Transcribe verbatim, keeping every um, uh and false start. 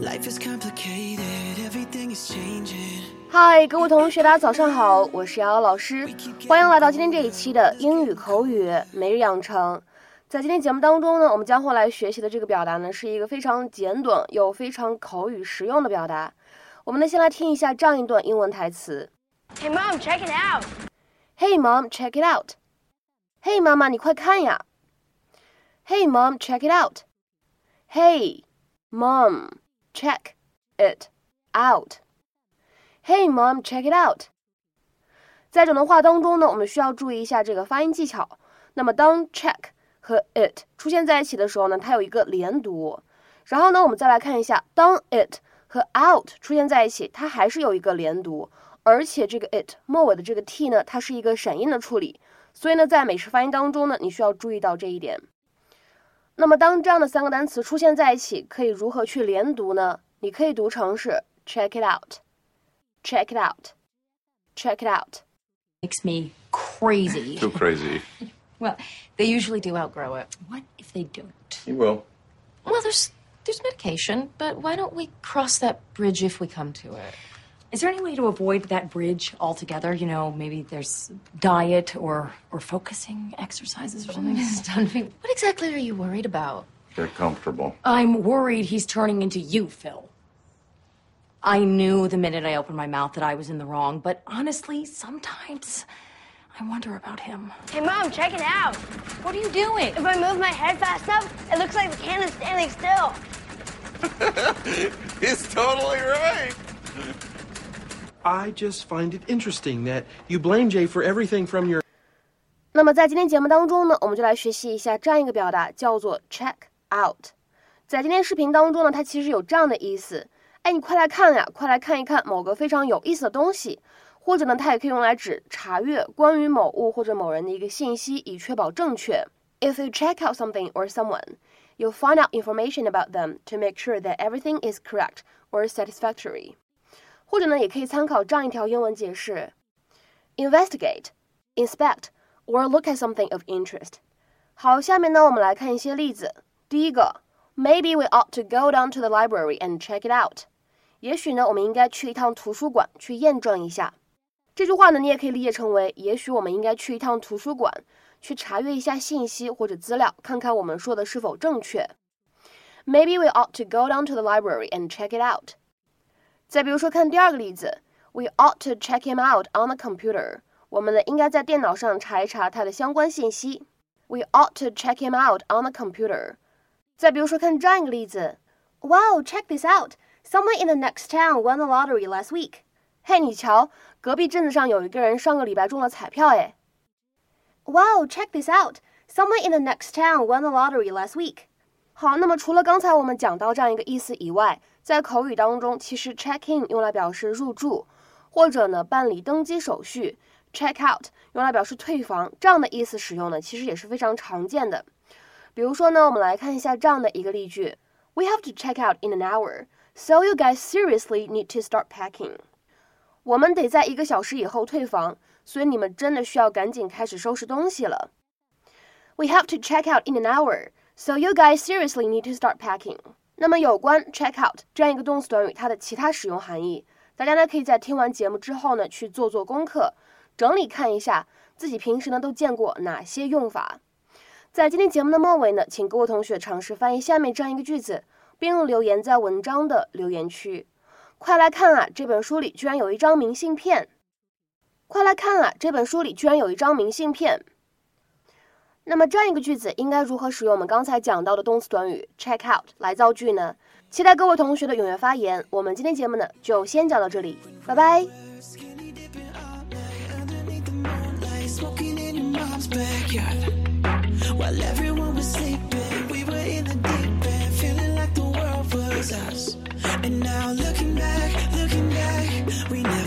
嗨，各位同学，大家早上好，我是瑶瑶老师，欢迎来到今天这一期的英语口语每日养成。在今天节目当中呢，我们将会来学习的这个表达呢，是一个非常简短又非常口语实用的表达。我们呢，先来听一下这样一段英文台词。 Hey mom, check it out. Hey mom, check it out. Hey 妈妈，你快看呀。Hey mom, check it out. Hey mom, check it out. Hey mom, check it out. 在整段话当中呢，我们需要注意一下这个发音技巧。那么当 check 和 it 出现在一起的时候呢，它有一个连读。然后呢，我们再来看一下，当 it 和 out 出现在一起，它还是有一个连读，而且这个 it 末尾的这个 t 呢，它是一个闪音的处理。所以呢，在美式发音当中呢，你需要注意到这一点。那么当这样的三个单词出现在一起，可以如何去连读呢？你可以读成是 check it out。Check it out. Check it out. Makes me crazy. Too crazy. Well, they usually do outgrow it. What if they don't? You will. Well, there's there's medication, but why don't we cross that bridge if we come to it? Is there any way to avoid that bridge altogether? You know, maybe there's diet or or focusing exercises or something? Stunning. What exactly are you worried about? Get comfortable. I'm worried he's turning into you, Phil. I knew the minute I opened my mouth that I was in the wrong, but honestly, sometimes I wonder about him. Hey mom, check it out. What are you doing? If I move my head fast enough, it looks like the can is standing still. He's totally right. I just find it interesting that you blame Jay for everything from your... 那么在今天节目当中呢，我们就来学习一下这样一个表达，叫做 check out。在今天视频当中呢，它其实有这样的意思。哎，你快来看呀，快来看一看某个非常有意思的东西，或者呢，它也可以用来指查阅关于某物或者某人的一个信息，以确保正确。If you check out something or someone, you'll find out information about them to make sure that everything is correct or satisfactory. 或者呢，也可以参考这样一条英文解释 ：investigate, inspect, or look at something of interest. 好，下面呢，我们来看一些例子。第一个 ，Maybe we ought to go down to the library and check it out. 也许呢，我们应该去一趟图书馆去验证一下。这句话呢，你也可以理解成为，也许我们应该去一趟图书馆，去查阅一下信息或者资料，看看我们说的是否正确。Maybe we ought to go down to the library and check it out. 再比如说，看第二个例子 ，We ought to check him out on the computer. 我们呢，应该在电脑上查一查他的相关信息。We ought to check him out on the computer. 再比如说，看这样一个例子 ，Wow, check this out.Someone in the next town won the lottery last week. 嘿，你瞧，隔壁镇子上有一个人上个礼拜中了彩票诶。Wow, check this out. Someone in the next town won the lottery last week. 好，那么除了刚才我们讲到这样一个意思以外，在口语当中，其实 check in 用来表示入住，或者呢办理登机手续 ，check out 用来表示退房，这样的意思使用呢，其实也是非常常见的。比如说呢，我们来看一下这样的一个例句 ：We have to check out in an hour.So you guys seriously need to start packing. 我们得在一个小时以后退房，所以你们真的需要赶紧开始收拾东西了。We have to check out in an hour, so you guys seriously need to start packing. 那么有关 check out 这样一个动词短语，它的其他使用含义，大家呢可以在听完节目之后呢去做做功课，整理看一下自己平时呢都见过哪些用法。在今天节目的末尾呢，请各位同学尝试翻译下面这样一个句子。并留言在文章的留言区。快来看啊，这本书里居然有一张明信片！快来看啊，这本书里居然有一张明信片！那么这样一个句子应该如何使用我们刚才讲到的动词短语 check out 来造句呢？期待各位同学的踊跃发言。我们今天节目呢就先讲到这里，拜拜。 And now looking back, looking back, we never